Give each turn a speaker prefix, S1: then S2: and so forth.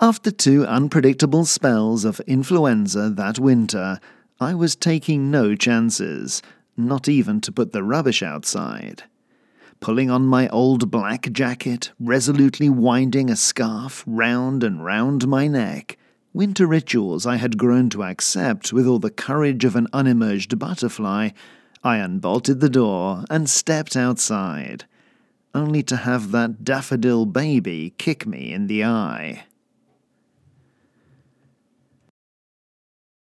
S1: After 2 unpredictable spells of influenza that winter, I was taking no chances, not even to put the rubbish outside. Pulling on my old black jacket, resolutely winding a scarf round and round my neck, winter rituals I had grown to accept with all the courage of an unemerged butterfly, I unbolted the door and stepped outside, only to have that daffodil baby kick me in the eye.